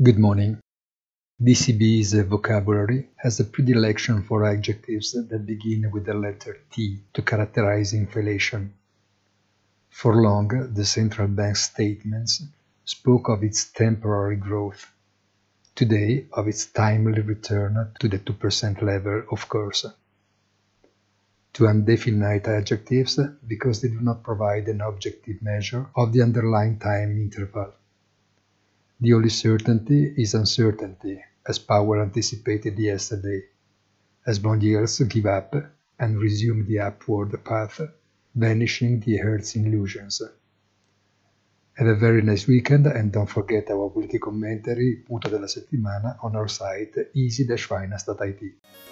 Good morning. DCB's vocabulary has a predilection for adjectives that begin with the letter T to characterize inflation. For long, the central bank's statements spoke of its temporary growth. Today, of its timely return to the 2% level, of course. To indefinite adjectives because they do not provide an objective measure of the underlying time interval. The only certainty is uncertainty, as Powell anticipated yesterday, as bond yields give up and resume the upward path, vanishing the Earth's illusions. Have a very nice weekend and don't forget our weekly commentary, punto della settimana, on our site easy-finance.it.